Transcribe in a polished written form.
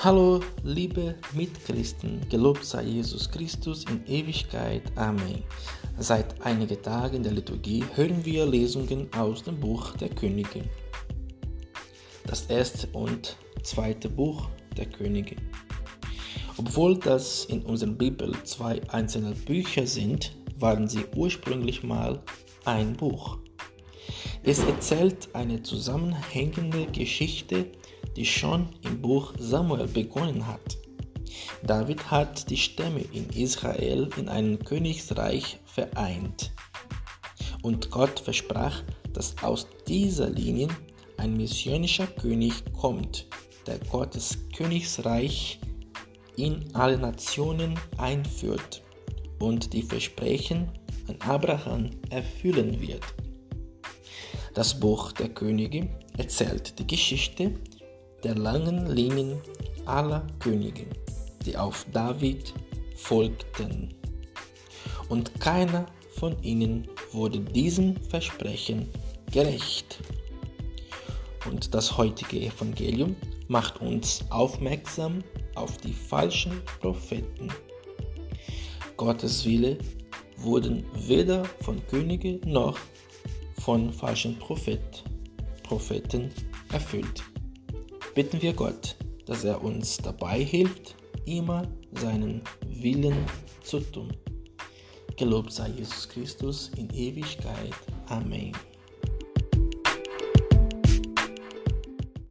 Hallo, liebe Mitchristen, gelobt sei Jesus Christus in Ewigkeit. Amen. Seit einigen Tagen in der Liturgie hören wir Lesungen aus dem Buch der Könige. Das erste und zweite Buch der Könige. Obwohl das in unserer Bibel zwei einzelne Bücher sind, waren sie ursprünglich mal ein Buch. Es erzählt eine zusammenhängende Geschichte, die schon im Buch Samuel begonnen hat. David hat die Stämme in Israel in einem Königsreich vereint. Und Gott versprach, dass aus dieser Linie ein messianischer König kommt, der Gottes Königsreich in alle Nationen einführt und die Versprechen an Abraham erfüllen wird. Das Buch der Könige erzählt die Geschichte der langen Linien aller Könige, die auf David folgten. Und keiner von ihnen wurde diesem Versprechen gerecht. Und das heutige Evangelium macht uns aufmerksam auf die falschen Propheten. Gottes Wille wurde weder von Königen noch von falschen Propheten erfüllt. Bitten wir Gott, dass er uns dabei hilft, immer seinen Willen zu tun. Gelobt sei Jesus Christus in Ewigkeit. Amen.